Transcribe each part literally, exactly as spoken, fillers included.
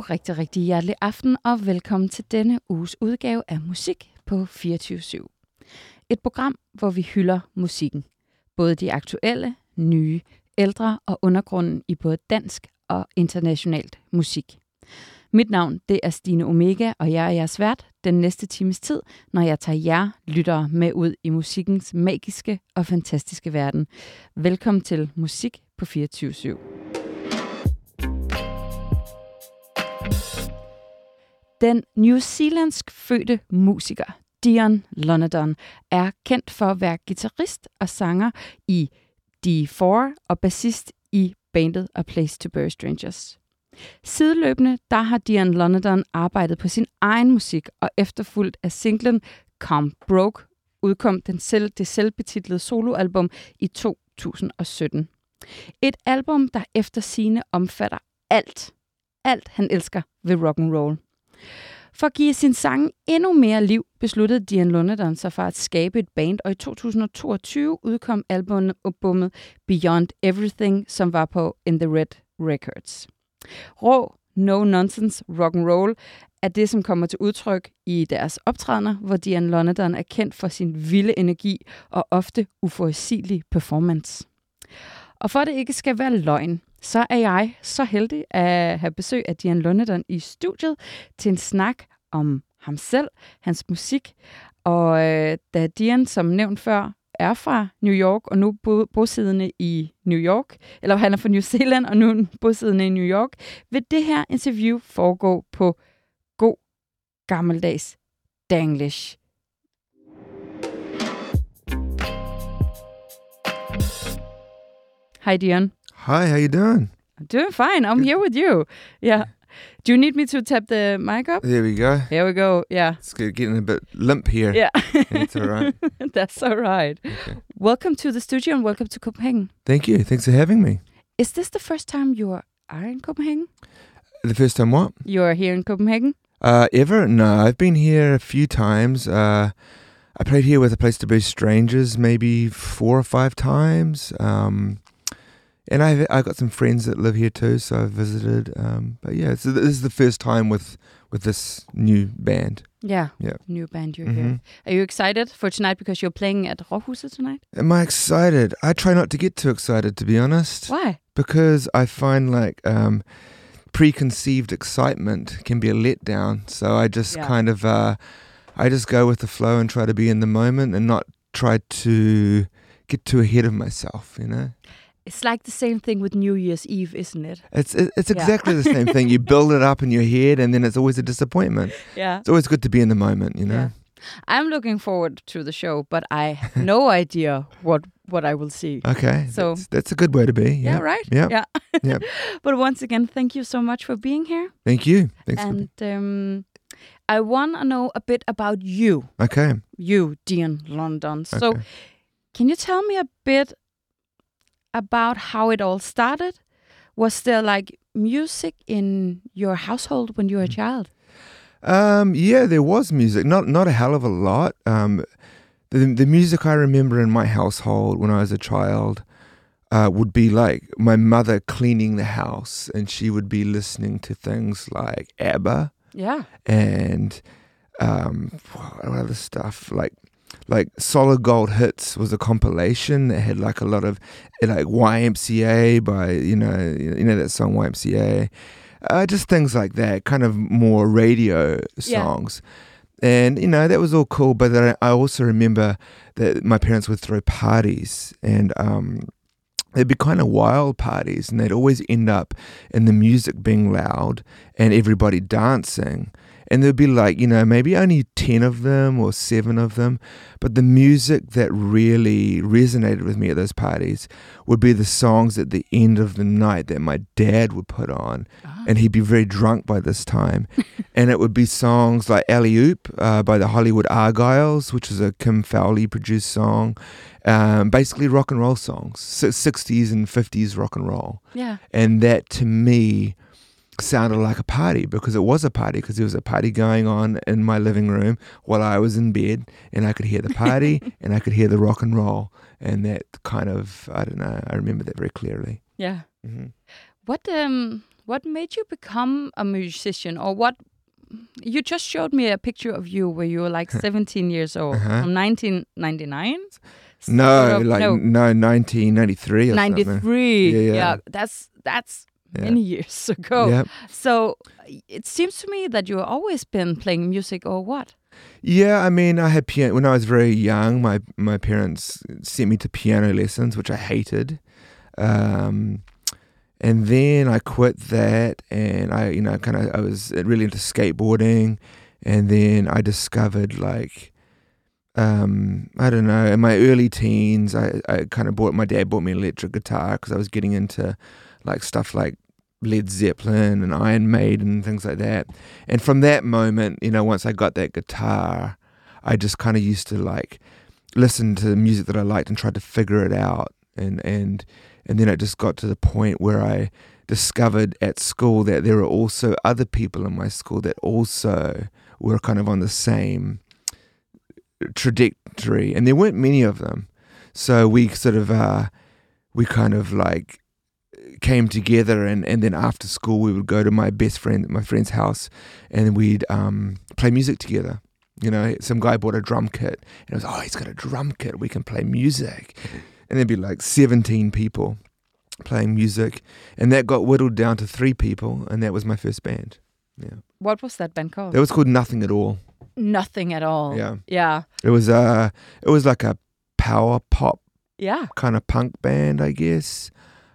Og rigtig, rigtig hjertelig aften, og velkommen til denne uges udgave af Musik på fireogtyve syv. Et program, hvor vi hylder musikken. Både de aktuelle, nye, ældre og undergrunden i både dansk og internationalt musik. Mit navn, det er Stine Omega, og jeg er jeres vært den næste times tid, når jeg tager jer lyttere med ud i musikkens magiske og fantastiske verden. Velkommen til Musik på fireogtyve syv. Den New Zealandsk fødte musiker Dion Lonergan er kendt for at være guitarist og sanger i D fire og bassist i bandet A Place to Bury Strangers. Sideløbende der har Dion Lonergan arbejdet på sin egen musik, og efterfulgt af singlen Come Broke udkom den selv, det selvbetitlede soloalbum i to tusind og sytten. Et album, der efter sigende omfatter alt, alt han elsker ved rock and roll. For at give sin sang endnu mere liv, besluttede Dion Lonergan sig for at skabe et band, og i to tusind og toogtyve udkom albumet Beyond Everything, som var på In the Red Records. Rå, no-nonsense rock and roll er det, som kommer til udtryk i deres optrædener, hvor Dion Lonergan er kendt for sin vilde energi og ofte uforudsigelig performance. Og for at det ikke skal være løgn, så er jeg så heldig at have besøg af Dion Lonergan i studiet til en snak om ham selv, hans musik. Og øh, da Dion, som nævnt før, er fra New York og nu bo- bosiddende i New York, eller han er fra New Zealand og nu bosiddende i New York, vil det her interview foregå på god gammeldags danglish. Hi, Dion. Hi, how you doing? I'm doing fine. I'm here with you. Yeah. Do you need me to tap the mic up? There we go. Here we go. Yeah. It's getting a bit limp here. Yeah. It's all right. That's all right. Okay. Welcome to the studio and welcome to Copenhagen. Thank you. Thanks for having me. Is this the first time you are in Copenhagen? The first time what? You are here in Copenhagen? Uh, ever? No, I've been here a few times. Uh, I played here with A Place to Bury Strangers maybe four or five times. Um, and I I got some friends that live here too, so I've visited. Um, but yeah, so this is the first time with with this new band. Yeah. Yeah. New band you're Mm-hmm. here. Are you excited for tonight because you're playing at Råhuset tonight? Am I excited? I try not to get too excited, to be honest. Why? Because I find like um, preconceived excitement can be a letdown. So I just Yeah. kind of, uh, I just go with the flow and try to be in the moment and not try to get too ahead of myself, you know? It's like the same thing with New Year's Eve, isn't it? It's it, it's Yeah. exactly the same thing. You build it up in your head and then it's always a disappointment. Yeah. It's always good to be in the moment, you know? Yeah. I'm looking forward to the show, but I have no idea what what I will see. Okay. So- that's, that's a good way to be. Yeah. Yeah, right? Yeah. Yeah. Yeah. But once again, thank you so much for being here. Thank you. Thanks for And um, I want to know a bit about you, Okay. you, Dion Lonergan. So Okay. can you tell me a bit about how it all started? Was there like music in your household when you were a child? Um, yeah, there was music. Not not a hell of a lot. Um, the the music I remember in my household when I was a child uh, would be like my mother cleaning the house, and she would be listening to things like ABBA Yeah. and um, what other stuff like like Solid Gold Hits was a compilation that had like a lot of like Y M C A by you know you know that song Y M C A. Uh, just things like that, kind of more radio songs. And, you know, that was all cool. But then I also remember that my parents would throw parties and um, they'd be kind of wild parties and they'd always end up in the music being loud and everybody dancing. And there'd be like, you know, maybe only ten of them or seven of them. But the music that really resonated with me at those parties would be the songs at the end of the night that my dad would put on. Ah. And he'd be very drunk by this time. And it would be songs like Alley Oop uh, by the Hollywood Argyles, which is a Kim Fowley produced song. Um, basically rock and roll songs, sixties and fifties rock and roll. Yeah. And that to me sounded like a party because it was a party because there was a party going on in my living room while I was in bed and I could hear the party and I could hear the rock and roll. And that kind of, I don't know, I remember that very clearly. Yeah. Mm-hmm. What um what made you become a musician, or what? You just showed me a picture of you where you were like seventeen years old, Uh-huh. from nineteen ninety-nine. No, Sort of- like no, no, nineteen ninety-three or something. ninety-three. Yeah, yeah. that's that's Yeah. many years ago. Yeah. So it seems to me that you've always been playing music, or what? Yeah, I mean, I had piano when I was very young. My my parents sent me to piano lessons, which I hated, um, and then I quit that, and I, you know, kind of I was really into skateboarding, and then I discovered like, um, I don't know, in my early teens, I, I kind of bought my dad bought me an electric guitar because I was getting into like stuff like Led Zeppelin and Iron Maiden and things like that. And from that moment, you know, once I got that guitar, I just kind of used to like listen to the music that I liked and tried to figure it out. And, and, and then it just got to the point where I discovered at school that there were also other people in my school that also were kind of on the same trajectory. And there weren't many of them. So we sort of, uh, we kind of like, came together, and, and then after school we would go to my best friend, my friend's house, and we'd um, play music together. You know, some guy bought a drum kit, and it was, oh, he's got a drum kit, we can play music. And there'd be like seventeen people playing music, and that got whittled down to three people, and that was my first band. Yeah. What was that band called? That was called Nothing at All. Nothing at all. Yeah. Yeah. It was uh it was like a power pop Yeah. kind of punk band, I guess.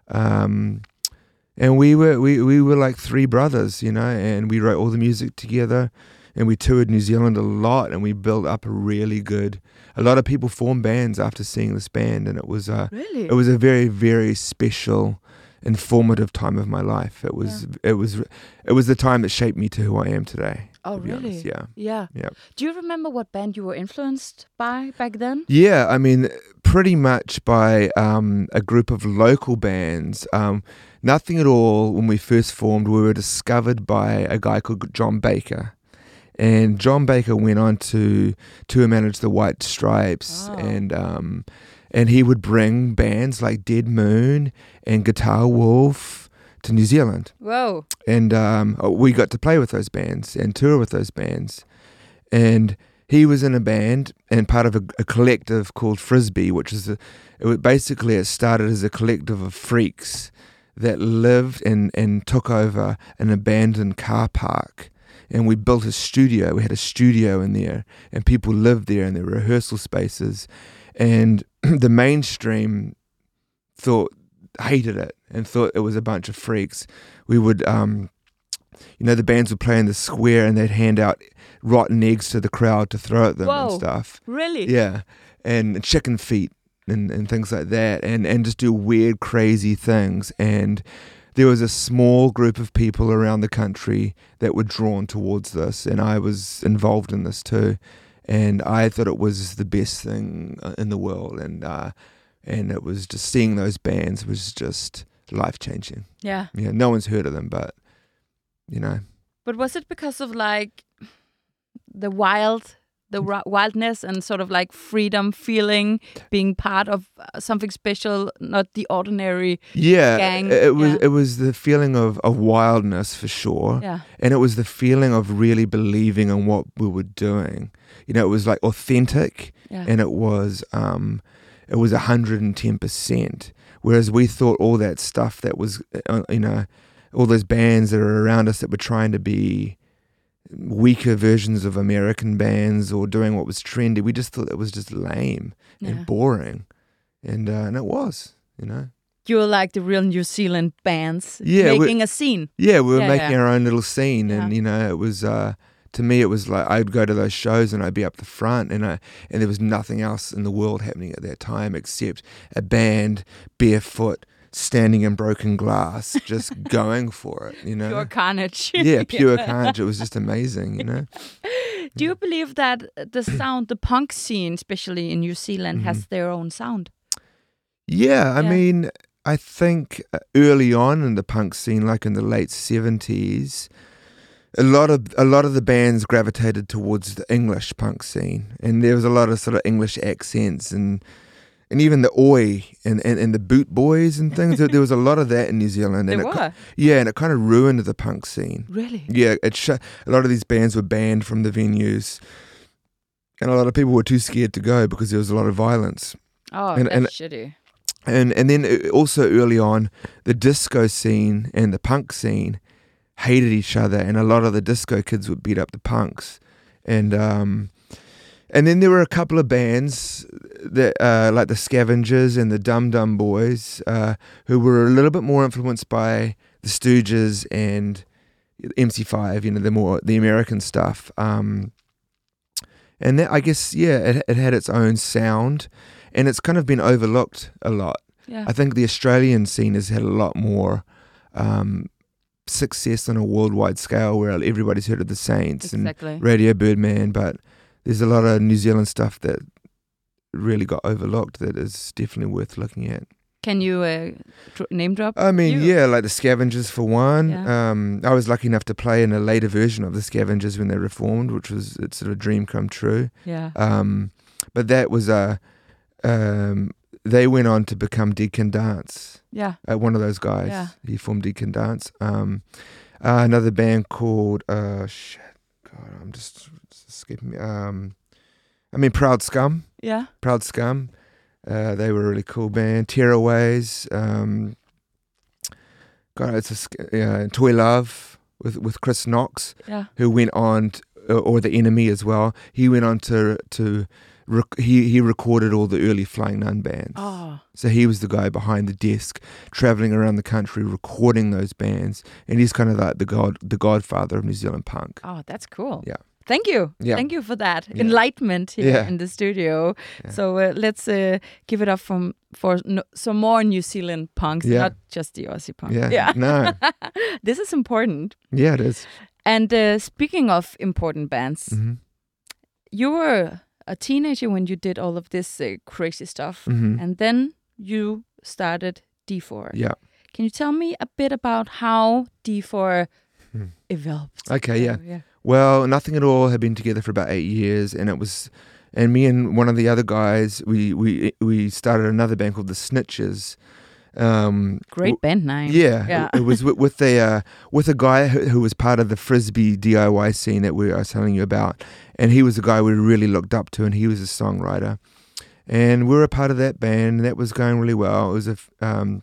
Um, and we were we, we were like three brothers, you know, and we wrote all the music together, and we toured New Zealand a lot, and we built up a really good. A lot of people formed bands after seeing this band, and it was uh, Really? it was a very very special, informative time of my life. It was Yeah. it was it was the time that shaped me to who I am today. Oh, to be really? honest. Yeah. Yeah. Yeah. Do you remember what band you were influenced by back then? Yeah, I mean, pretty much by um, a group of local bands. Um, Nothing at All, when we first formed, we were discovered by a guy called John Baker. And John Baker went on to tour manage the White Stripes, Oh. and um, and he would bring bands like Dead Moon and Guitar Wolf to New Zealand. Whoa. And um, we got to play with those bands and tour with those bands. And he was in a band and part of a, a collective called Frisbee, which is a, it was basically it started as a collective of freaks that lived and, and took over an abandoned car park. And we built a studio. We had a studio in there, and people lived there in their rehearsal spaces. And the mainstream thought hated it and thought it was a bunch of freaks. We would, um, you know, the bands would play in the square, and they'd hand out rotten eggs to the crowd to throw at them Whoa. and stuff. Really? Yeah, and chicken feet and, and things like that, and, and just do weird, crazy things. And there was a small group of people around the country that were drawn towards this, and I was involved in this too. And I thought it was the best thing in the world, and uh, and it was just seeing those bands was just life changing. Yeah. Yeah, no one's heard of them, but you know. But was it because of like the wild, the ri- wildness and sort of like freedom feeling, being part of uh, something special, not the ordinary? Yeah, gang, it was yeah. it was the feeling of, of wildness for sure. Yeah. And it was the feeling of really believing in what we were doing. You know, it was like authentic, Yeah. and it was um, it was one hundred ten percent. Whereas we thought all that stuff that was, uh, you know, all those bands that are around us that were trying to be weaker versions of American bands or doing what was trendy, we just thought it was just lame Yeah. and boring. And, uh, and it was, you know. You were like the real New Zealand bands, Yeah, we- making a scene. Yeah, we were Yeah, making yeah. our own little scene, and Yeah. you know, it was uh, to me, it was like I'd go to those shows and I'd be up the front, and I, and there was nothing else in the world happening at that time except a band barefoot, standing in broken glass, just going for it. You know, Pure carnage. yeah, pure carnage. It was just amazing. You know, Do you believe that the sound, the punk scene, especially in New Zealand, has their own sound? yeah. I Yeah. mean, I think uh, early on in the punk scene, like in the late seventies. A lot of a lot of the bands gravitated towards the English punk scene, and there was a lot of sort of English accents and and even the oi and, and, and the boot boys and things. there, there was a lot of that in New Zealand. There and it, were? Yeah, and it kind of ruined the punk scene. Really? Yeah, it sh- a lot of these bands were banned from the venues, and a lot of people were too scared to go because there was a lot of violence. Oh, and, that's and, shitty. And and then also early on, the disco scene and the punk scene hated each other, and a lot of the disco kids would beat up the punks, and um, and then there were a couple of bands that uh, like the Scavengers and the Dum Dum Boys, uh, who were a little bit more influenced by the Stooges and M C five, you know, the more the American stuff. Um, and that, I guess, yeah, it, it had its own sound. And it's kind of been overlooked a lot. Yeah. I think the Australian scene has had a lot more um, success on a worldwide scale, where everybody's heard of the Saints exactly. and Radio Birdman, but there's a lot of New Zealand stuff that really got overlooked that is definitely worth looking at. Can you uh, dr- name drop? I mean, you? yeah, like the Scavengers for one. Yeah. Um, I was lucky enough to play in a later version of the Scavengers when they reformed, which was it's sort of a dream come true. Yeah. Um, but that was a... Um, they went on to become Dead Can Dance. Yeah. Uh, one of those guys. Yeah. He formed Dead Can Dance. Um, uh, another band called uh, shit. God, I'm just, just escaping me. Um, I mean, Proud Scum. Yeah. Proud Scum. Uh, they were a really cool band. Tearaways. Um, God, it's a uh, Toy Love with with Chris Knox. Yeah. Who went on, to, or The Enemy as well. He went on to to. Rec- he he recorded all the early Flying Nun bands. Oh. So he was the guy behind the desk, traveling around the country, recording those bands, and he's kind of like the god, the godfather of New Zealand punk. Oh, that's cool. Yeah. Thank you. Yeah. Thank you for that Yeah. enlightenment here Yeah. in the studio. Yeah. So uh, let's uh, give it up from, for no, some more New Zealand punks, Yeah. not just the Aussie punk. Yeah. Yeah. No. This is important. Yeah, it is. And uh, speaking of important bands, Mm-hmm. you were a teenager when you did all of this uh, crazy stuff, Mm-hmm. and then you started D four. Yeah. Can you tell me a bit about how D four Hmm. evolved? Okay. Yeah. So, yeah. Well, Nothing at All had been together for about eight years, and it was, and me and one of the other guys, we we we started another band called the Snitches. Um, Great w- band name. Yeah, Yeah. it, it was with, with a uh, with a guy who, who was part of the Frisbee D I Y scene that we I was telling you about, and he was a guy we really looked up to, and he was a songwriter, and we were a part of that band, and that was going really well. It was a f- um,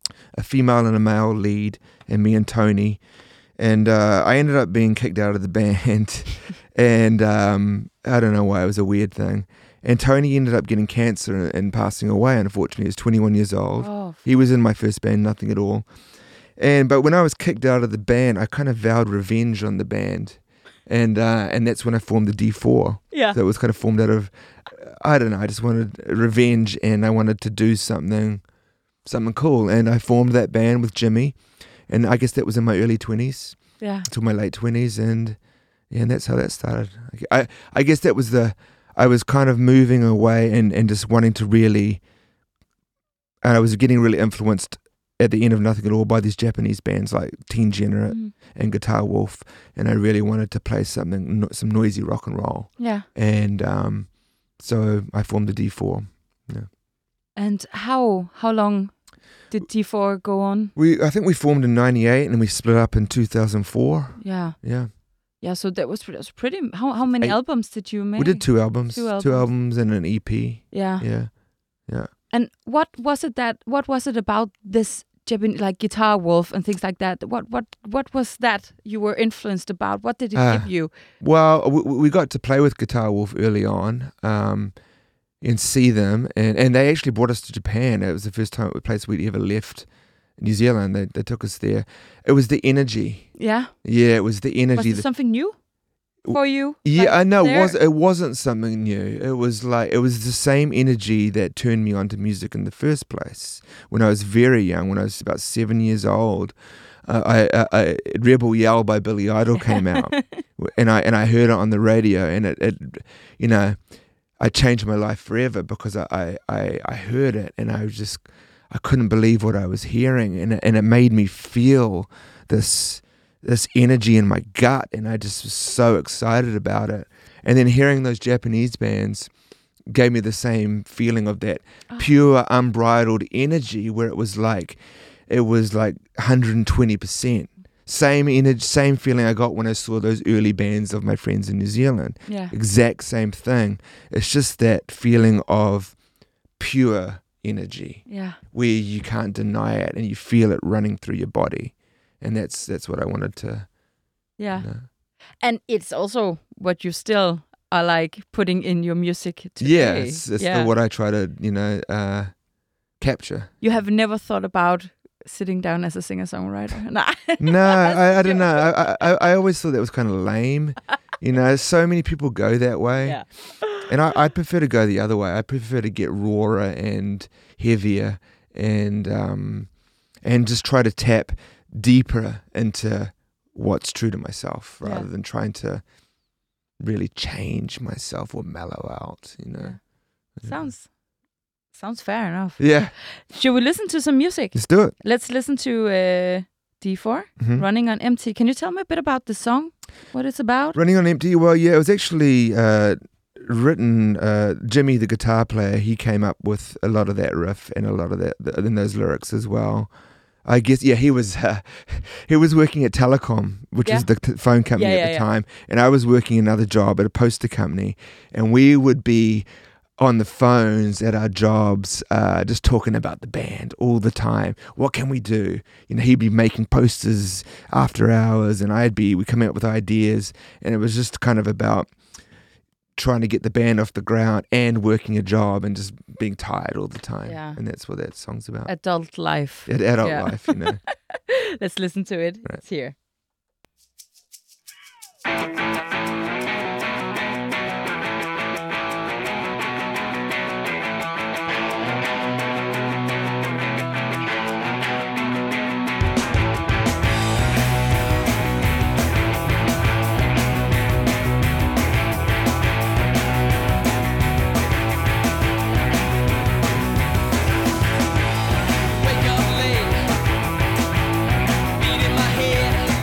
a female and a male lead, and me and Tony, and uh, I ended up being kicked out of the band, and um, I don't know why, it was a weird thing. And Tony ended up getting cancer and, and passing away, unfortunately. He was twenty-one years old. Oh, He was in my first band, Nothing at All. And but when I was kicked out of the band, I kind of vowed revenge on the band. And uh, and that's when I formed the D four. yeah. So it was kind of formed out of, I don't know, I just wanted revenge, and I wanted to do something something cool. And I formed that band with Jimmy. And I guess that was in my early twenties, Yeah. to my late twenties. And yeah, and that's how that started. I, I guess that was the... I was kind of moving away and, and just wanting to really, and I was getting really influenced at the end of Nothing at All by these Japanese bands like Teen Generate Mm. and Guitar Wolf, and I really wanted to play something, no, some noisy rock and roll, Yeah. and um, so I formed the D four. Yeah. And how how long did D four go on? We I think we formed in ninety-eight and we split up in two thousand four. Yeah. Yeah, Yeah. So that was, that was pretty. How how many Eight. albums did you make? we did two albums, Two albums. two albums and an E P. Yeah. Yeah, yeah. And what was it that? What was it about this Japanese, like Guitar Wolf and things like that? What what what was that you were influenced about? What did it Uh, give you? Well, we, we got to play with Guitar Wolf early on, um, and see them, and, and they actually brought us to Japan. It was the first time place we'd ever left New Zealand. They they took us there. It was the energy. Yeah. Yeah, it was the Was energy. it that, something new for you? yeah, Like I know. It there? was it wasn't something new. It was like it was the same energy that turned me onto music in the first place. When I was very young, when I was about seven years old, uh, I, I, I Rebel Yell by Billy Idol came out, and I and I heard it on the radio, and it, it you know, I changed my life forever because I, I, I, I heard it, and I was just I couldn't believe what I was hearing, and it, and it made me feel this this energy in my gut, and I just was so excited about it. And then hearing those Japanese bands, gave me the same feeling of that Oh. pure, unbridled energy where it was like, it was like one hundred twenty percent. Same energy, same feeling I got when I saw those early bands of my friends in New Zealand. Yeah. Exact same thing. It's just that feeling of pure energy Yeah. where you can't deny it and you feel it running through your body. And that's that's what I wanted to Yeah. you know. And it's also what you still are like putting in your music today. Yeah, it's, it's yeah. still what I try to, you know, uh, capture. You have never thought about sitting down as a singer-songwriter? Nah. No, I, I don't know. I, I I always thought that was kind of lame. You know, so many people go that way. Yeah. And I, I prefer to go the other way. I prefer to get rawer and heavier and um, and just try to tap deeper into what's true to myself rather Yeah. than trying to really change myself or mellow out, you know. Yeah. Sounds sounds fair enough. Yeah, Should we listen to some music? let's do it. Let's listen to uh, D four, Mhm. Running on Empty. Can you tell me a bit about the song? What it's about? Running on Empty. Well, yeah, it was actually uh, written. Uh, Jimmy, the guitar player, he came up with a lot of that riff and a lot of that in those lyrics as well. I guess, yeah, he was uh, he was working at Telecom, which Yeah. was the t- phone company Yeah, at yeah, the yeah. time, and I was working another job at a poster company, and we would be on the phones at our jobs, uh, just talking about the band all the time. What can we do? You know, he'd be making posters after hours, and I'd be we come out with ideas, and it was just kind of about trying to get the band off the ground and working a job and just being tired all the time. Yeah. And that's what that song's about. Adult life. Ad- adult Yeah. life, you know. Let's listen to it. Right. It's here. Wake up late, beat in my head.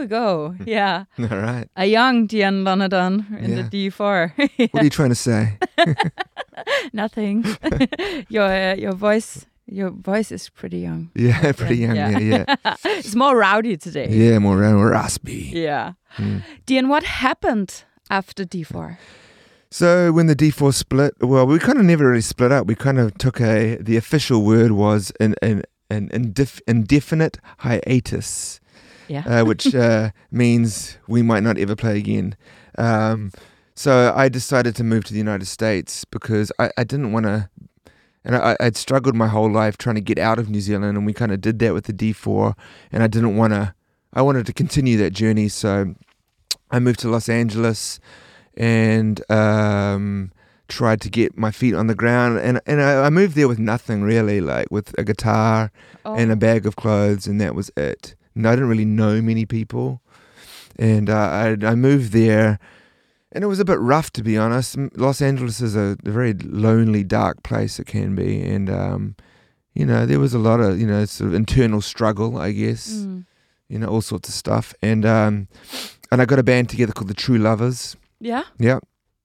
go. Yeah. All right. A young Dion Lonadon in Yeah. the D four. Yeah. What are you trying to say? Nothing. your uh, your voice your voice is pretty young. Yeah, pretty young. Yeah. Yeah, yeah. It's more rowdy today. Yeah, more more raspy. Yeah. Mm. Dion, what happened after D four? So when the D four split, well, we kind of never really split up. We kind of took a, the official word was an an, an indif- indefinite hiatus, Yeah. uh, which uh, means we might not ever play again. Um, so I decided to move to the United States because I, I didn't want to, and I, I'd struggled my whole life trying to get out of New Zealand, and we kind of did that with the D four, and I didn't want to, I wanted to continue that journey, so I moved to Los Angeles and um, tried to get my feet on the ground. And, and I, I moved there with nothing really, like with a guitar Oh. and a bag of clothes, and that was it. And I didn't really know many people. And uh, I, I moved there, and it was a bit rough, to be honest. M- Los Angeles is a, a very lonely, dark place, it can be. And, um, you know, there was a lot of, you know, sort of internal struggle, I guess. Mm. You know, all sorts of stuff. And um, and I got a band together called the True Lovers. Yeah. Yeah,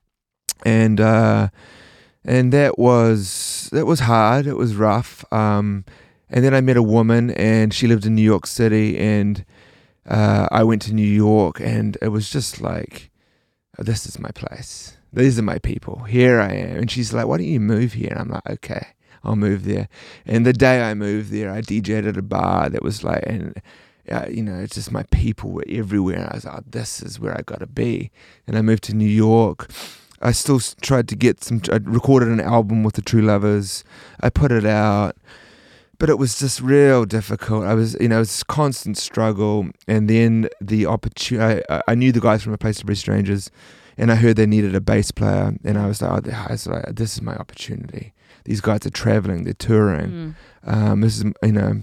and uh, and that was that was hard. It was rough. Um, and then I met a woman, and she lived in New York City, and uh, I went to New York, and it was just like, oh, this is my place. These are my people. Here I am. And she's like, why don't you move here? And I'm like, okay, I'll move there. And the day I moved there, I D J'd at a bar that was like, and Uh, you know, it's just my people were everywhere. And I was like, oh, this is where I got to be. And I moved to New York. I still s- tried to get some, I recorded an album with the True Lovers. I put it out, but it was just real difficult. I was, you know, it was a constant struggle. And then the opportunity, I, I knew the guys from A Place to Be Strangers, and I heard they needed a bass player. And I was like, oh, I was like, this is my opportunity. These guys are traveling, they're touring. Mm. Um, this is, you know,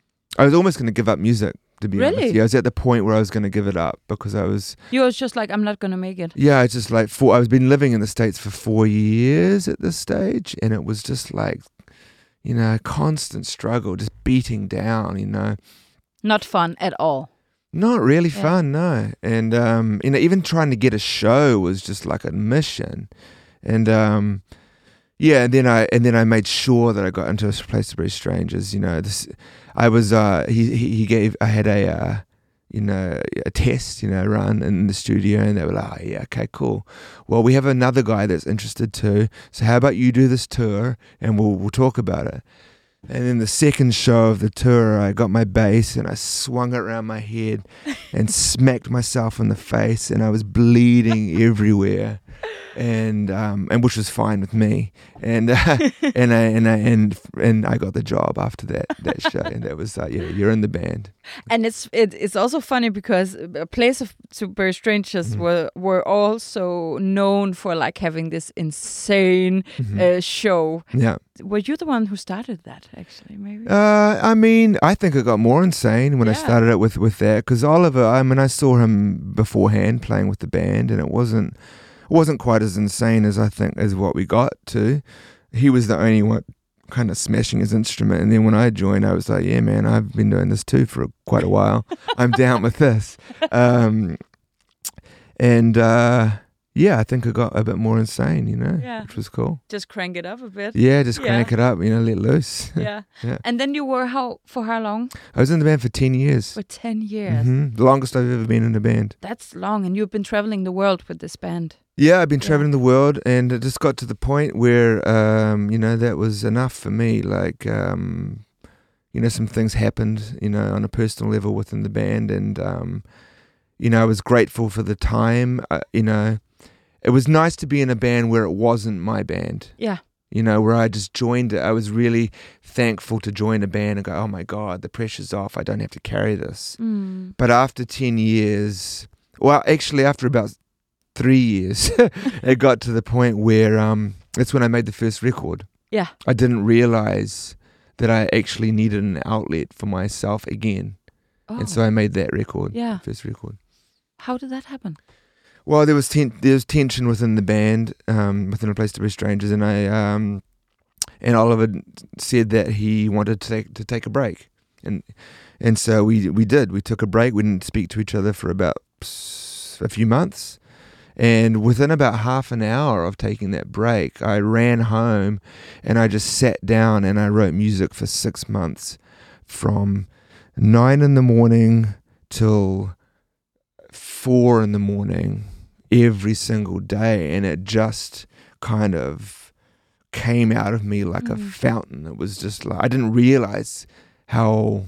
I was almost going to give up music. To be Really? honest, yeah, I was at the point where I was going to give it up because I was. You was just like, I'm not gonna make it. Yeah, I just like four. I was been living in the States for four years at this stage, and it was just like, you know, constant struggle, just beating down. You know, Not fun at all. not really Yeah. fun, no. And um, you know, even trying to get a show was just like a mission, and um, yeah, and then I and then I made sure that I got into A Place to Be Strangers. You know, this I was uh, he he he gave I had a uh, you know a test you know run in the studio, and they were like, oh, yeah, okay, cool. Well, we have another guy that's interested too. So how about you do this tour, and we'll we'll talk about it. And then the second show of the tour, I got my bass and I swung it around my head and smacked myself in the face, and I was bleeding everywhere, and um, and which was fine with me. And uh, and I and I and and I got the job after that that show, and that was like, yeah, you're in the band. And it's it, it's also funny because A Place of to Be Strangers Mhm. were were also known for like having this insane Mhm. uh, show. Yeah. Were you the one who started that? Actually, maybe. Uh, I mean, I think it got more insane when I Yeah. started it with with that, because Oliver. I mean, I saw him beforehand playing with the band, and it wasn't it wasn't quite as insane as I think as what we got to. He was the only one kind of smashing his instrument, and then when I joined, I was like, yeah, man, I've been doing this too for quite a while. I'm down with this. Um, and uh, yeah, I think it got a bit more insane, you know, Yeah. which was cool. Just crank it up a bit. Yeah, just Yeah. crank it up, you know, let loose. Yeah. Yeah. And then you were how for how long? I was in the band for ten years. For ten years. Mhm. The longest I've ever been in a band. That's long, and you've been traveling the world with this band. Yeah, I've been Yeah. traveling the world, and it just got to the point where, um, you know, that was enough for me. Like, um, you know, some things happened, you know, on a personal level within the band, and, um, you know, I was grateful for the time. Uh, you know, it was nice to be in a band where it wasn't my band. Yeah. You know, where I just joined it. I was really thankful to join a band and go, oh my God, the pressure's off. I don't have to carry this. Mm. But after ten years, well, actually after about three years, it got to the point where um, that's when I made the first record. Yeah. I didn't realize that I actually needed an outlet for myself again. Oh. And so I made that record, Yeah. first record. How did that happen? Well, there was ten- there was tension within the band, um, within A Place to Be Strangers, and I um, and Oliver said that he wanted to take to take a break. and and so we we did. We took a break. We didn't speak to each other for about a few months. And within about half an hour of taking that break, I ran home and I just sat down and I wrote music for six months from nine in the morning till four in the morning every single day. And it just kind of came out of me like mm. a fountain. It was just like, I didn't realize how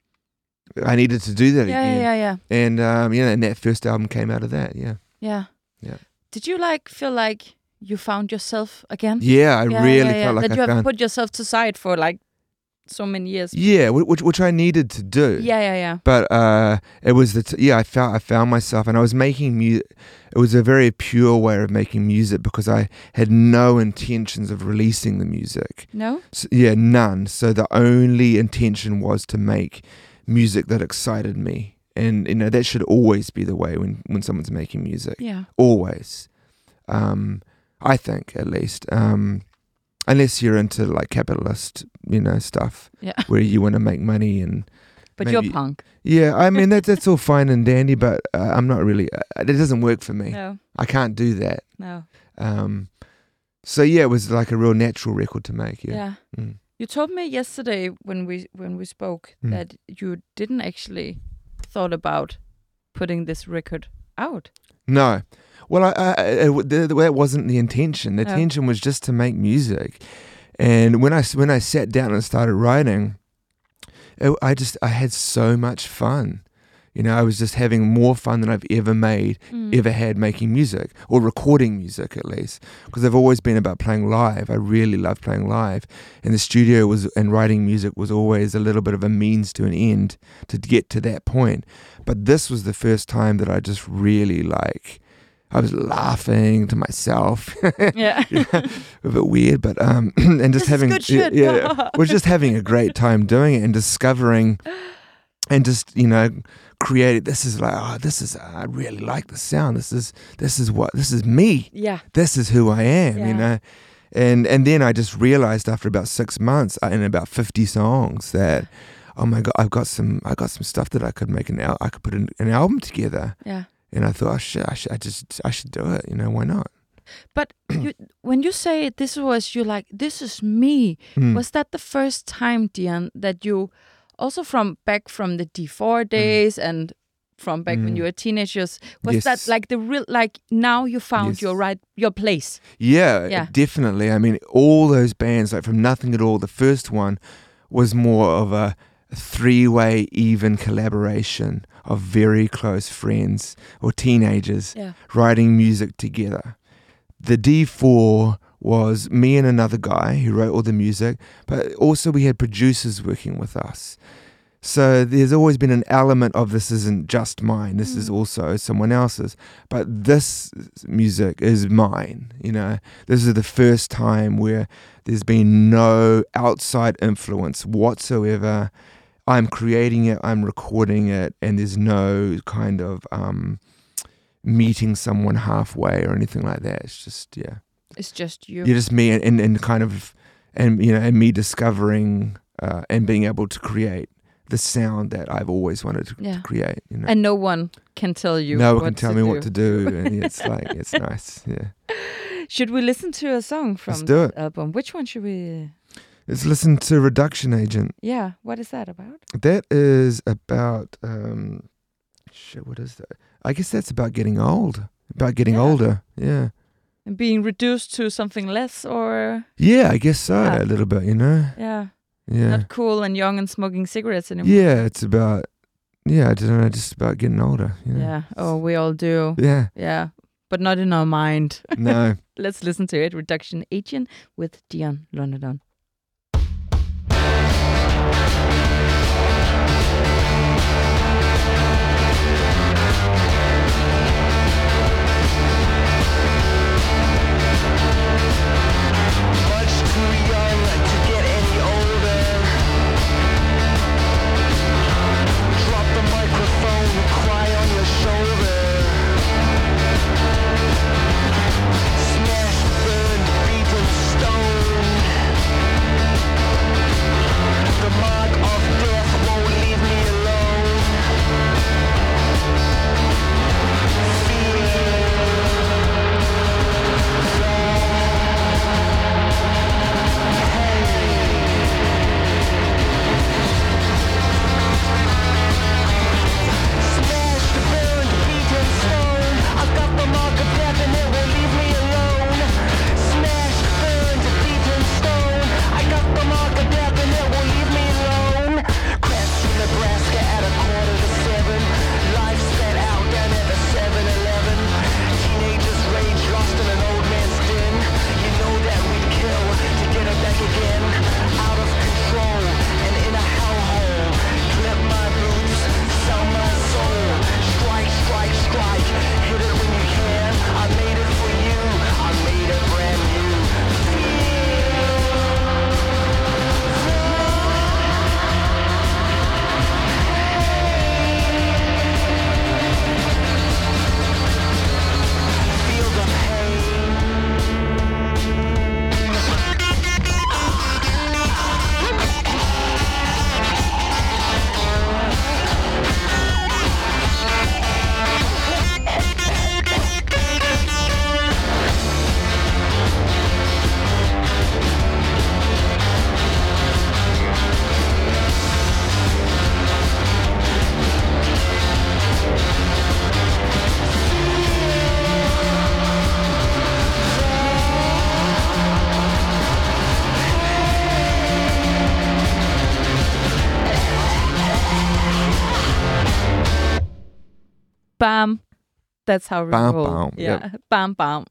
I needed to do that yeah, again. Yeah, yeah, And, um, you know, and that first album came out of that, yeah. Yeah. Yeah. Did you like feel like you found yourself again? Yeah, I yeah, really yeah, yeah. felt like that I you found... have put yourself to side for like so many years. Yeah, which which I needed to do. Yeah, yeah, yeah. But uh, it was the t- yeah, I found I found myself, and I was making music. It was a very pure way of making music because I had no intentions of releasing the music. No. So, yeah, none. So the only intention was to make music that excited me, and you know that should always be the way when when someone's making music. Yeah. Always. Um, I think at least. Um, Unless you're into like capitalist, you know, stuff, yeah, where you want to make money and. But maybe, you're punk. Yeah, I mean that's that's all fine and dandy, but uh, I'm not really. Uh, it doesn't work for me. No, I can't do that. No. Um, so yeah, it was like a real natural record to make. Yeah. Yeah. Mm. You told me yesterday when we when we spoke mm. that you didn't actually thought about putting this record out. No. Well, I, I, it, that wasn't the intention. The no. intention was just to make music, and when I when I sat down and started writing, it, I just I had so much fun. You know, I was just having more fun than I've ever made, mm. ever had making music or recording music at least, because I've always been about playing live. I really love playing live, and the studio was and writing music was always a little bit of a means to an end to get to that point. But this was the first time that I just really like. I was laughing to myself. Yeah. You know, a bit weird, but um, and just this having is good shit. yeah, yeah, we're just having a great time doing it and discovering, and just you know, creating. This is like, oh, this is I really like the sound. This is this is what this is me. Yeah. This is who I am. Yeah. You know, and and then I just realized after about six months and about fifty songs that, oh my god, I've got some I got some stuff that I could make an al- I could put an, an album together. Yeah. And I thought, I should, I should, I just, I should do it. You know, why not? But you, when you say this was, you like, this is me. Mm. Was that the first time, Dion, that you, also from back from the D four days mm. and from back mm. when you were teenagers, was yes. that like the real, like now you found yes. your right, your place? Yeah, yeah, definitely. I mean, all those bands, like from Nothing at All, the first one was more of a three-way even collaboration of very close friends or teenagers yeah. writing music together. The D four was me and another guy who wrote all the music, but also we had producers working with us. So there's always been an element of this isn't just mine, this mm. is also someone else's. But this music is mine, you know. This is the first time where there's been no outside influence whatsoever. I'm creating it, I'm recording it, and there's no kind of um, meeting someone halfway or anything like that. It's just, yeah. It's just you. You're just me and, and, and kind of, and you know, and me discovering uh, and being able to create the sound that I've always wanted to, yeah. to create. You know? And no one can tell you No what one can tell to me do. what to do. And it's like, it's nice, yeah. Should we listen to a song from Let's do the it. album? Which one should we... Let's listen to Reduction Agent. Yeah, what is that about? That is about, um, shit, what is that? I guess that's about getting old, about getting yeah. older, yeah. And being reduced to something less, or? Yeah, I guess so, yeah. a little bit, you know? Yeah. Yeah. Not cool and young and smoking cigarettes anymore. Yeah, it's about, yeah, I don't know, just about getting older. You know? Yeah, oh, we all do. Yeah. Yeah, but not in our mind. No. Let's listen to it, Reduction Agent with Dion London. The mark of death won't bam. That's how we Bam, roll. bam, Yeah, yep. bam, bam.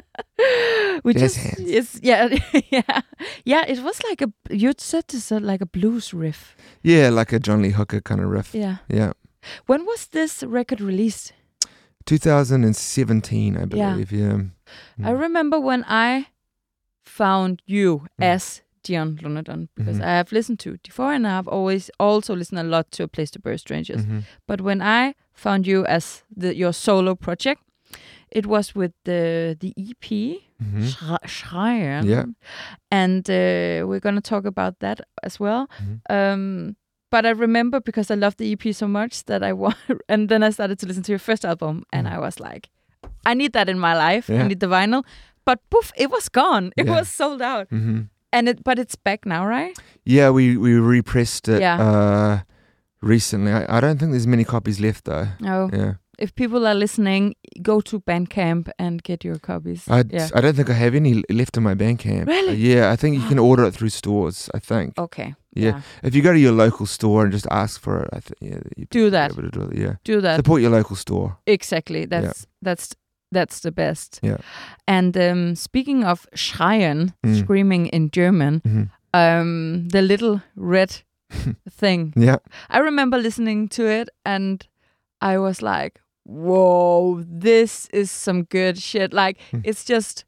we Jazz just, hands. it's, yeah, yeah, yeah. It was like a, you said it's a, like a blues riff. Yeah, like a John Lee Hooker kind of riff. Yeah. Yeah. When was this record released? two thousand seventeen, I believe. Yeah. I remember when I found you Mm. as Dion Lunadon, because Mhm. I have listened to D four and I've always also listened a lot to A Place to Bury Strangers. Mhm. But when I found you as the, your solo project, it was with the the E P, Mhm. Schre- Schreien. Yeah. And uh, we're going to talk about that as well. Mhm. Um, but I remember, because I loved the E P so much, that I wa- and then I started to listen to your first album, and Mm. I was like, I need that in my life. I Yeah. need the vinyl. But poof, it was gone. It Yeah. was sold out. Mhm. And it, but it's back now, right? Yeah, we we repressed it Yeah. uh, recently. I, I don't think there's many copies left though. Oh, Yeah. if people are listening, go to Bandcamp and get your copies. I, yeah. I don't think I have any left in my Bandcamp. Really? Uh, yeah, I think you can order it through stores, I think. Okay. Yeah. If you go to your local store and just ask for it, I think yeah, you'd Do be that. able to do it. Yeah. Do that. Support your local store. Exactly. That's that's that's the best. Yeah. And um, speaking of Schreien, Mm. screaming in German, Mhm. um, the little red thing. Yeah. I remember listening to it, and I was like, "Whoa, this is some good shit!" Like Mm. it's just.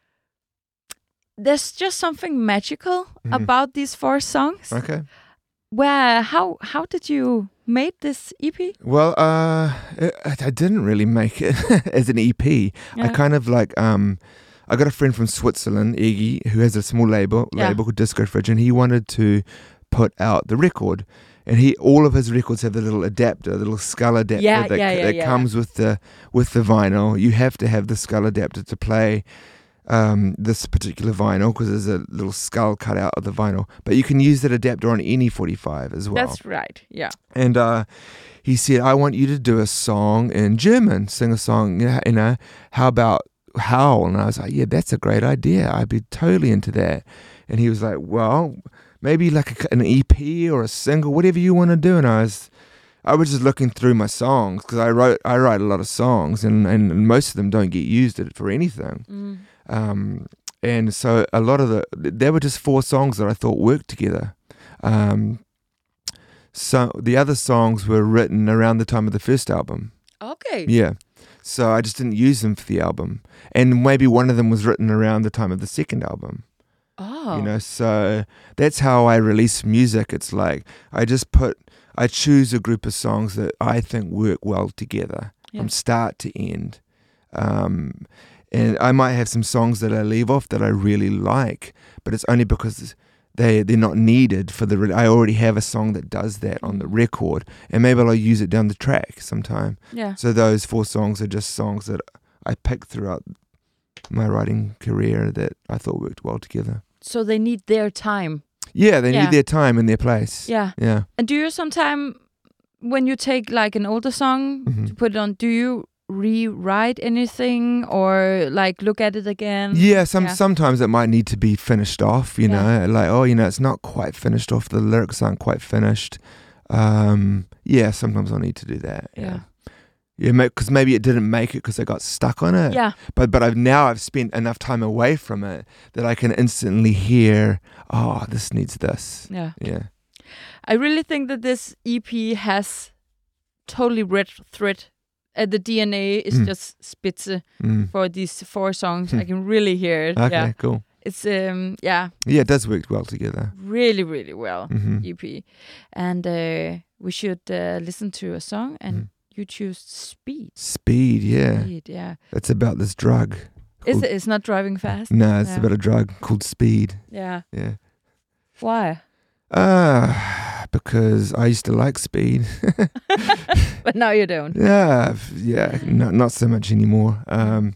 There's just something magical Mhm. about these four songs. Okay. Where how how did you made this E P? Well, uh, I, I didn't really make it as an E P. I Yeah. kind of like um, I got a friend from Switzerland, Iggy, who has a small label Yeah. label called Disco Fridge, and he wanted to put out the record. And he, all of his records have the little adapter, the little skull adapter Yeah, that, yeah, yeah, that yeah. comes with the with the vinyl. You have to have the skull adapter to play um, this particular vinyl because there's a little skull cut out of the vinyl. But you can use that adapter on any forty-five as well. That's right. Yeah. And uh, he said, I want you to do a song in German, sing a song, you know, you know, how about Howl? And I was like, yeah, that's a great idea. I'd be totally into that. And he was like, well, maybe like a, an E P or a single, whatever you want to do. And I was, I was just looking through my songs because I wrote, I write a lot of songs, and, and most of them don't get used for anything. Mm. Um, and so a lot of the, there were just four songs that I thought worked together. Um, so the other songs were written around the time of the first album. Okay. Yeah. So I just didn't use them for the album. And maybe one of them was written around the time of the second album. Oh. You know, so that's how I release music. It's like I just put, I choose a group of songs that I think work well together Yeah. from start to end. Um, and I might have some songs that I leave off that I really like, but it's only because they, they're not needed for the, re- I already have a song that does that on the record, and maybe I'll use it down the track sometime. Yeah. So those four songs are just songs that I picked throughout my writing career that I thought worked well together. So they need their time. Yeah, they Yeah. need their time and their place. Yeah. Yeah. And do you sometime, when you take like an older song Mhm. to put it on, do you rewrite anything or like look at it again? Yeah, some Yeah. sometimes it might need to be finished off, you Yeah. know, like, oh, you know, it's not quite finished off, the lyrics aren't quite finished. Um, yeah, sometimes I'll need to do that. Yeah. Yeah. Yeah, because maybe it didn't make it because I got stuck on it. Yeah. But but I've now I've spent enough time away from it that I can instantly hear, oh, this needs this. Yeah. Yeah. I really think that this E P has totally red thread. Uh, the D N A is Mm. just spitze Mm. for these four songs. I can really hear it. Okay, Yeah. cool. It's um yeah, Yeah, it does work well together. really, really well. hmm E P. And uh, we should uh, listen to a song, and Mm. you choose Speed. Speed, yeah. Speed, yeah. It's about this drug. Is Cool. it, it's not driving fast? No, it's Yeah. about a drug called speed. Yeah. Yeah. Why? Uh, because I used to like speed. But now you don't. yeah, f- yeah, not not so much anymore. Um,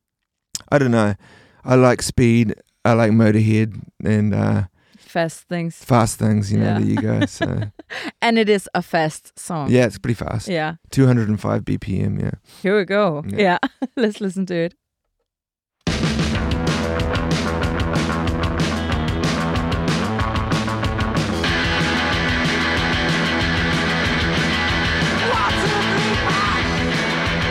I don't know. I like speed. I like Motorhead and uh, Fast things. fast things. You know, Yeah. there you go. So And it is a fast song. yeah, it's pretty fast. Yeah. two hundred five B P M. Yeah. Here we go. Yeah. Yeah. Let's listen to it. Want to be back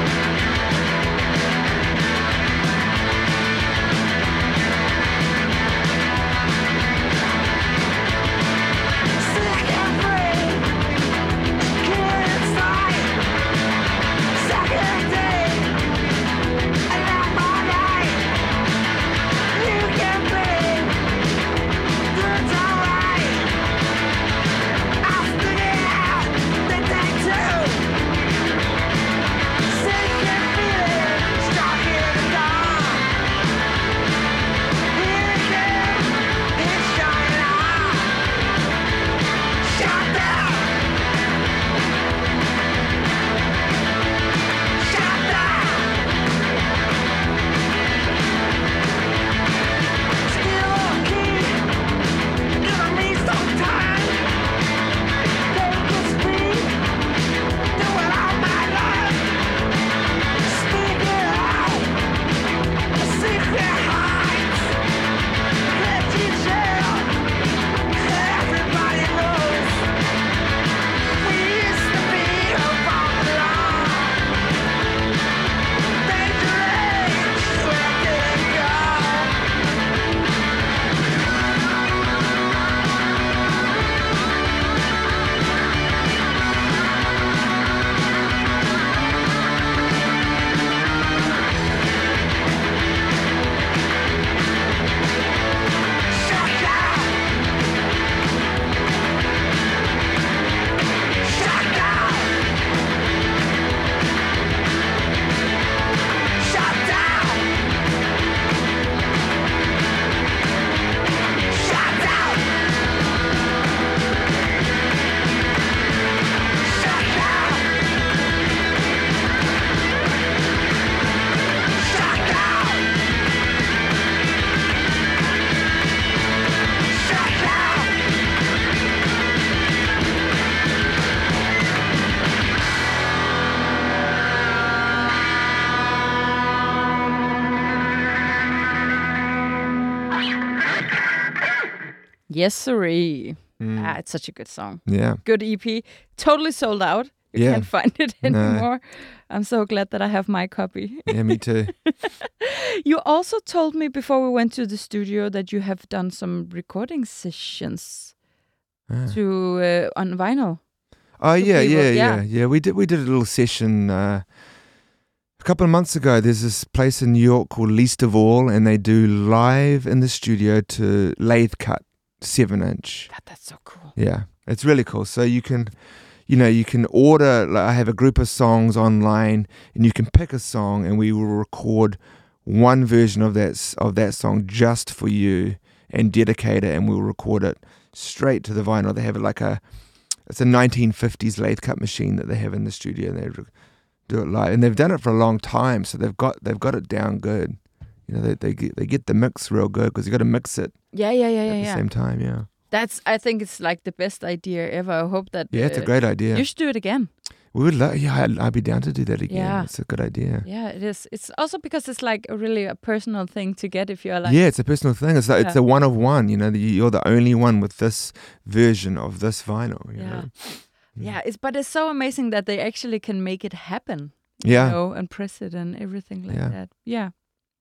Yes, sirree. Mm. Ah, it's such a good song. Yeah. Good E P. Totally sold out. You Yeah. can't find it No. anymore. I'm so glad that I have my copy. Yeah, me too. You also told me before we went to the studio that you have done some recording sessions Ah. to uh, on vinyl. Oh to yeah, people, yeah, yeah. yeah, yeah. We did we did a little session uh, a couple of months ago. There's this place in New York called Least of All, and they do live in the studio to lathe cut seven inch. God, that's so cool. Yeah, it's really cool. So you can, you know, you can order. Like, I have a group of songs online, and you can pick a song, and we will record one version of that s- of that song just for you, and dedicate it, and we'll record it straight to the vinyl. They have it like a, it's a nineteen fifties lathe cut machine that they have in the studio, and they re- do it live, and they've done it for a long time, so they've got they've got it down good. You know, they they get they get the mix real good because you got to mix it Yeah, yeah, yeah, at yeah, the yeah. same time. Yeah, That's. I think it's like the best idea ever. I hope that. yeah, it's a uh, great idea. You should do it again. We would, lo- yeah, I'd, I'd be down to do that again. Yeah. It's a good idea. Yeah, it is. It's also because it's like a really a personal thing to get if you're like. Yeah, it's a personal thing. It's like, it's Yeah. a one of one. You know, you- you're the only one with this version of this vinyl. You Yeah. know? Yeah, it's but it's so amazing that they actually can make it happen. Yeah. You know, and press it and everything like Yeah. that. Yeah.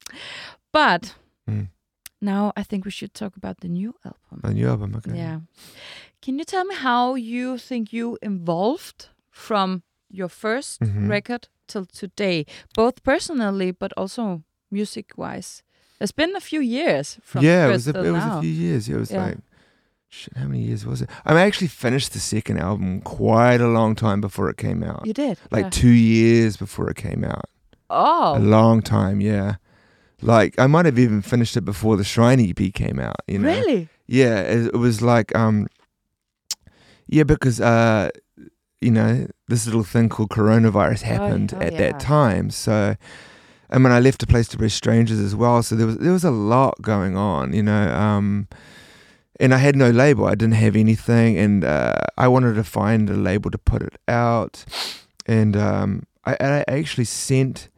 But Mm. now I think we should talk about the new album. A new album. Okay. Yeah. Can you tell me how you think you evolved from your first Mhm. record till today, both personally but also music-wise? There's been a few years from yeah, it first was a, till it was now. a few years. Yeah, it was Yeah. like, shit, how many years was it? I mean, I actually finished the second album quite a long time before it came out. You did? Like yeah. two years before it came out. Oh. A long time, yeah. Like I might have even finished it before the Shrine E P came out. You know? Really? Yeah, it, it was like, um, yeah, because uh, you know, this little thing called coronavirus happened oh, at yeah. that time. So, I mean, I left A Place to Bury Strangers as well. So there was there was a lot going on, you know. Um, and I had no label. I didn't have anything, and uh, I wanted to find a label to put it out. And um, I, I actually sent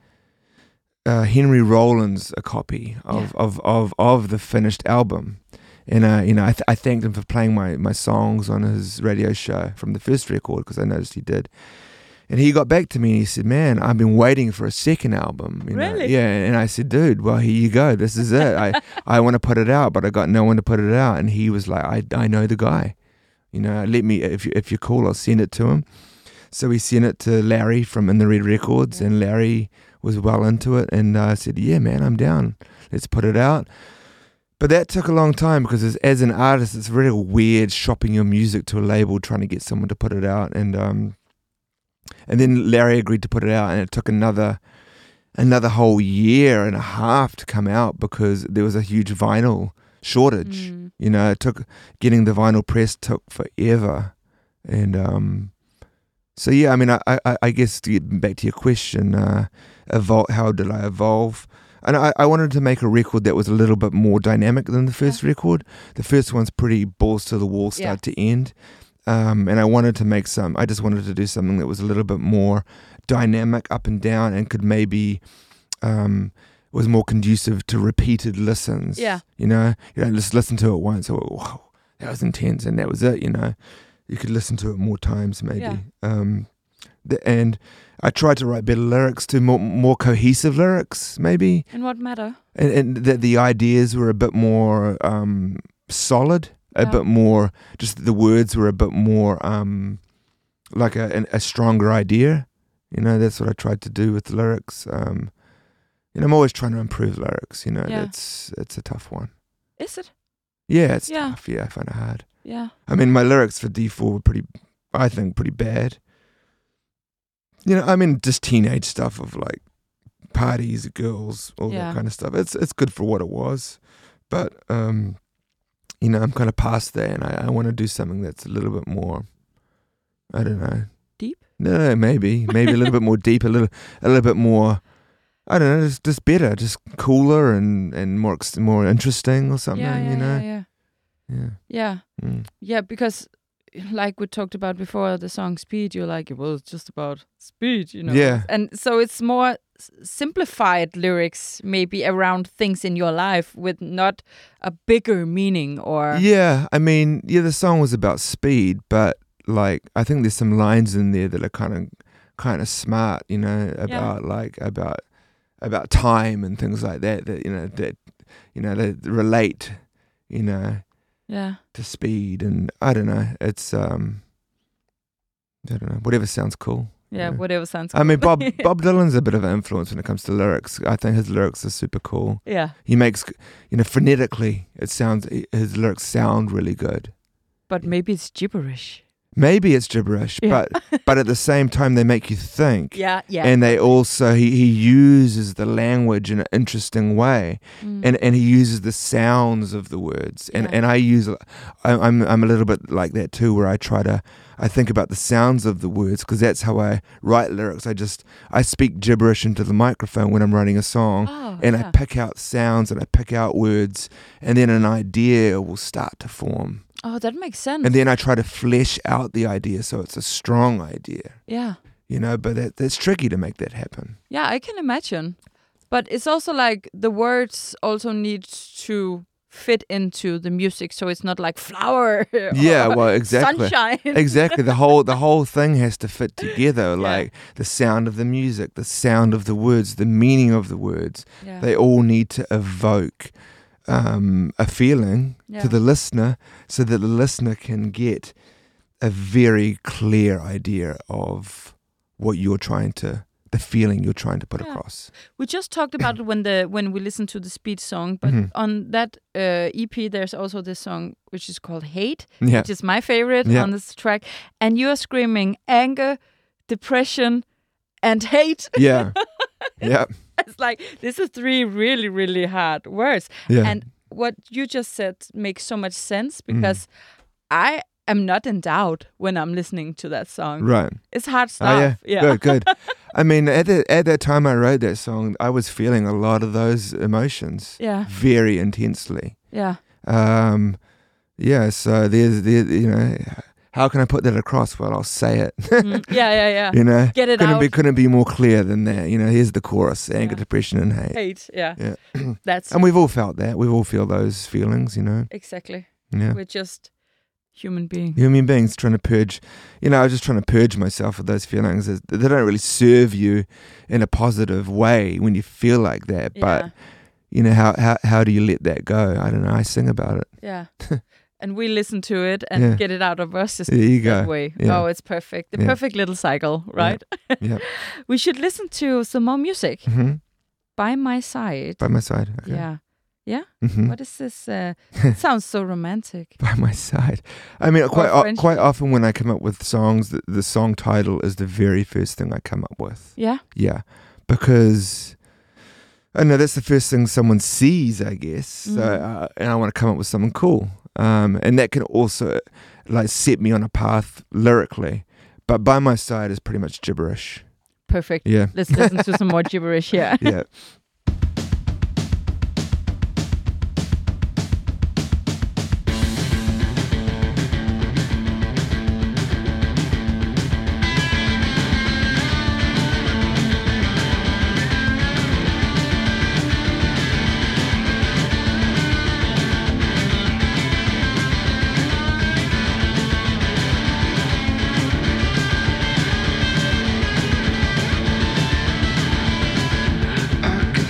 uh, Henry Rollins a copy of, Yeah. of, of, of the finished album. And, uh, you know, I, th- I thanked him for playing my, my songs on his radio show from the first record, because I noticed he did. And he got back to me and he said, man, I've been waiting for a second album. You know? Really? Yeah. And I said, dude, well, here you go. This is it. I, I want to put it out, but I got no one to put it out. And he was like, I, I know the guy. You know, let me, if, you, if you're cool, I'll send it to him. So we sent it to Larry from In the Red Records, Yeah. and Larry was well into it. And I uh, said, yeah, man, I'm down. Let's put it out. But that took a long time, because as, as an artist, it's really weird shopping your music to a label, trying to get someone to put it out. And um, and then Larry agreed to put it out, and it took another another whole year and a half to come out, because there was a huge vinyl shortage. Mm. You know, it took getting the vinyl press took forever. And um, so yeah, I mean, I, I, I guess to get back to your question, uh, evol- how did I evolve? And I, I wanted to make a record that was a little bit more dynamic than the first Yeah. record. The first one's pretty balls to the wall, start Yeah. to end. Um, and I wanted to make some, I just wanted to do something that was a little bit more dynamic, up and down, and could maybe, um, was more conducive to repeated listens. Yeah. You know, you don't just listen to it once, oh, wow, that was intense, and that was it, you know. You could listen to it more times, maybe. Yeah. Um, the, and I tried to write better lyrics, to more more cohesive lyrics, maybe. In what matter? And, and the, the ideas were a bit more um, solid, a Yeah. bit more, just the words were a bit more um, like a, an, a stronger idea. You know, that's what I tried to do with the lyrics. Um, you know, I'm always trying to improve lyrics, you know, Yeah. it's, it's a tough one. Is it? Yeah, it's Yeah. tough. Yeah, I find it hard. Yeah. I mean, my lyrics for D four were pretty, I think, pretty bad. You know, I mean, just teenage stuff of like parties, girls, all Yeah. that kind of stuff. It's it's good for what it was, but um, you know, I'm kind of past there, and I, I want to do something that's a little bit more, I don't know, Deep? No, no, maybe, maybe a little bit more deep, a little, a little bit more. I don't know, just just better, just cooler and and more ex- more interesting or something. Yeah, yeah, you know, yeah, yeah. yeah. Yeah. Mm. Yeah, because like we talked about before, the song Speed, you're like, well, it's just about speed, you know? Yeah. And so it's more s- simplified lyrics, maybe around things in your life with not a bigger meaning or... Yeah, I mean, yeah, the song was about speed, but like, I think there's some lines in there that are kind of, kind of smart, you know, about yeah. like, about, about time and things like that, that, you know, that, you know, that relate, you know, yeah, to speed. And I don't know, it's, um, I don't know, whatever sounds cool. Yeah, you know. whatever sounds cool. I mean, Bob Bob Dylan's a bit of an influence when it comes to lyrics. I think his lyrics are super cool. Yeah. He makes, you know, phonetically, it sounds, his lyrics sound really good. But maybe it's gibberish. Maybe it's gibberish, Yeah. but but at the same time, they make you think. Yeah, yeah. And they also, he, he uses the language in an interesting way. Mm. And and he uses the sounds of the words. And Yeah. and I use, I, I'm I'm a little bit like that too, where I try to, I think about the sounds of the words, because that's how I write lyrics. I just, I speak gibberish into the microphone when I'm writing a song. Oh, and yeah. I pick out sounds and I pick out words. And then an idea will start to form. Oh, that makes sense. And then I try to flesh out the idea so it's a strong idea. Yeah. You know, but that, that's tricky to make that happen. Yeah, I can imagine. But it's also like the words also need to fit into the music, so it's not like flower. Yeah, or well, exactly. Sunshine. Exactly. The whole the whole thing has to fit together. Yeah. Like the sound of the music, the sound of the words, the meaning of the words. Yeah. They all need to evoke um, a feeling Yeah. to the listener, so that the listener can get a very clear idea of what you're trying to, the feeling you're trying to put Yeah. across. We just talked about it when the when we listened to the Speed song, but Mhm. on that uh, E P, there's also this song which is called Hate, Yeah. which is my favorite Yeah. on this track. And you're screaming anger, depression, and hate. Yeah. Yeah. It's like, this is three really, really hard words. Yeah. And what you just said makes so much sense, because I am not in doubt when I'm listening to that song. Right. It's hard stuff. Oh, yeah. yeah. Good, good. I mean, at, the, at that time I wrote that song, I was feeling a lot of those emotions Yeah. very intensely. Yeah. Um, yeah, so there's, there, you know, how can I put that across? Well, I'll say it. Mm, yeah, yeah, yeah. You know, Get it couldn't out. be couldn't be more clear than that. You know, here's the chorus: anger, Yeah. depression, and hate. Hate, yeah. Yeah, That's and we've all felt that. We all feel those feelings. You know, exactly. yeah. We're just human beings. Human beings trying to purge. You know, I was just trying to purge myself of those feelings. They don't really serve you in a positive way when you feel like that. Yeah. But you know, how how how do you let that go? I don't know. I sing about it. Yeah. And we listen to it and Yeah. get it out of us There you that go. way. Yeah. Oh, it's perfect. The Yeah. perfect little cycle, right? Yeah. We should listen to some more music. hmm By My Side. By my side. Okay. Yeah. Yeah? hmm What is this? Uh, it sounds so romantic. By my side. I mean, quite Or o- French. quite often when I come up with songs, the, the song title is the very first thing I come up with. Yeah? Yeah, because I know that's the first thing someone sees, I guess. So, Mhm. uh, and I want to come up with something cool, um, and that can also like set me on a path lyrically. But By My Side is pretty much gibberish. Perfect. Yeah, Let's listen to some more gibberish here. yeah. I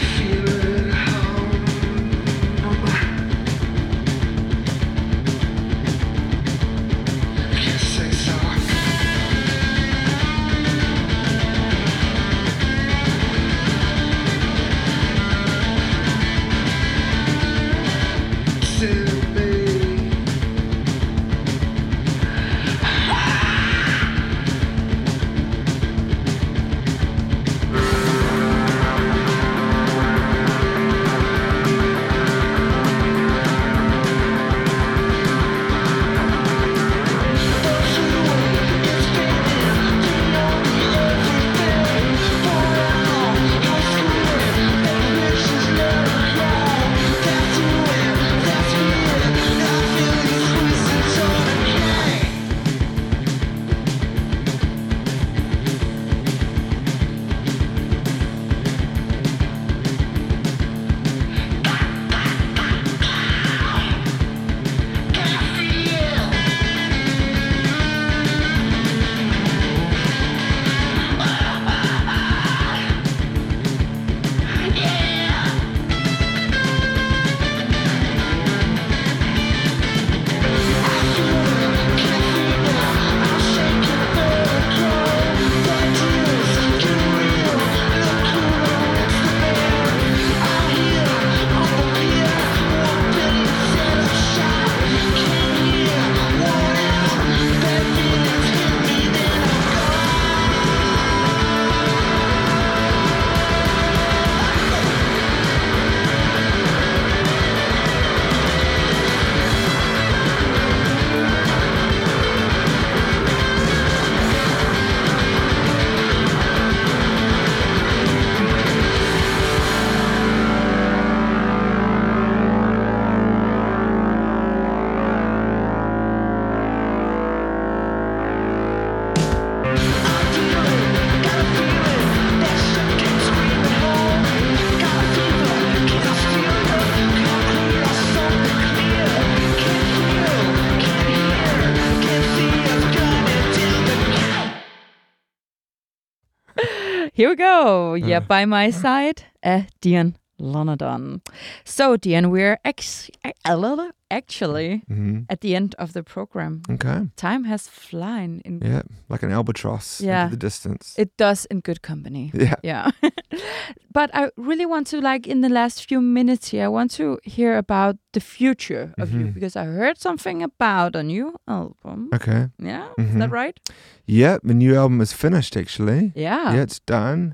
Here we go. Yeah, Uh. By My Side af Dion Lonadon. So, Dion, we're ex- actually Mm-hmm. at the end of the program. Okay. Time has flown in. Yeah, like an albatross Yeah. into the distance. It does in good company. yeah. Yeah. But I really want to, like, in the last few minutes here, I want to hear about the future of you, Mhm. because I heard something about a new album. Okay. Yeah, is Mhm. that right? Yeah, the new album is finished actually. Yeah. Yeah, it's done.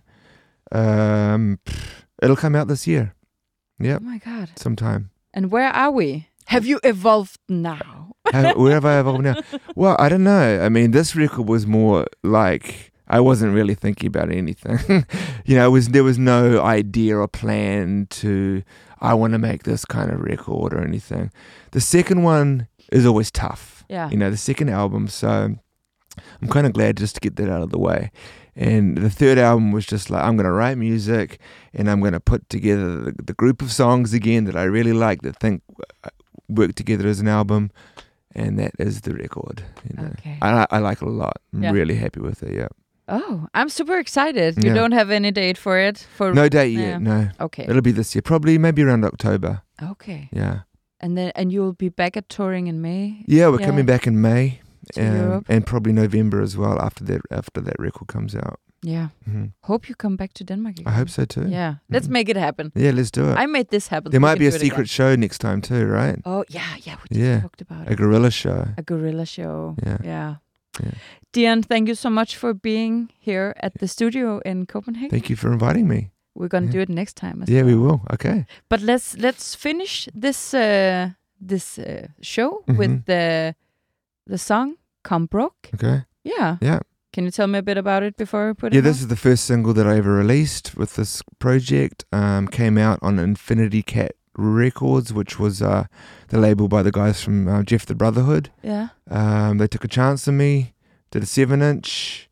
Um, pff, it'll come out this year. Yep, Oh my God. sometime. And where are we? Have you evolved now? How, where have I evolved now? Well, I don't know. I mean, this record was more like I wasn't really thinking about anything. you know, it was there was no idea or plan to I want to make this kind of record or anything. The second one is always tough. Yeah. You know, the second album. So I'm kind of glad just to get that out of the way. And the third album was just like, I'm going to write music and I'm going to put together the, the group of songs again that I really like, that think work together as an album. And that is the record. You know. Okay. I, I like it a lot. I'm Yeah. really happy with it, yeah. Oh, I'm super excited. You Yeah. don't have any date for it? For No date Yeah. yet, no. Okay. It'll be this year. Probably maybe around October. Okay. Yeah. And then and you'll be back at touring in May? Yeah, we're Yeah. coming back in May. To um, Europe. and probably November as well after that after that record comes out. Yeah. Mhm. Hope you come back to Denmark again. I hope so too. Yeah. Let's Mhm. make it happen. Yeah, let's do it. I made this happen. There We might can be a do it secret again. show next time too, right? Oh, yeah, yeah. We just Yeah. talked about A it. gorilla show. A gorilla show. Yeah. Yeah. Yeah. Dion, thank you so much for being here at the studio in Copenhagen. Thank you for inviting me. We're gonna Yeah. do it next time as Yeah, well. we will. Okay. But let's let's finish this uh, this uh, show with Mhm. the the song "Come Broke." Okay. Yeah. Yeah. Can you tell me a bit about it before we put Yeah, it? this is the first single that I ever released with this project. Um, came out on Infinity Cat Records, which was uh, the label by the guys from uh, Jeff the Brotherhood. Yeah. Um, they took a chance on me, did a seven inch,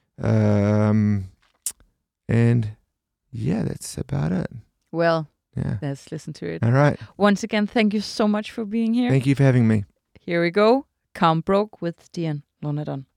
um, and yeah, that's about it. Well, Yeah. let's listen to it. All right. Once again, thank you so much for being here. Thank you for having me. Here we go. "Come Broke" with Dion Lonadon.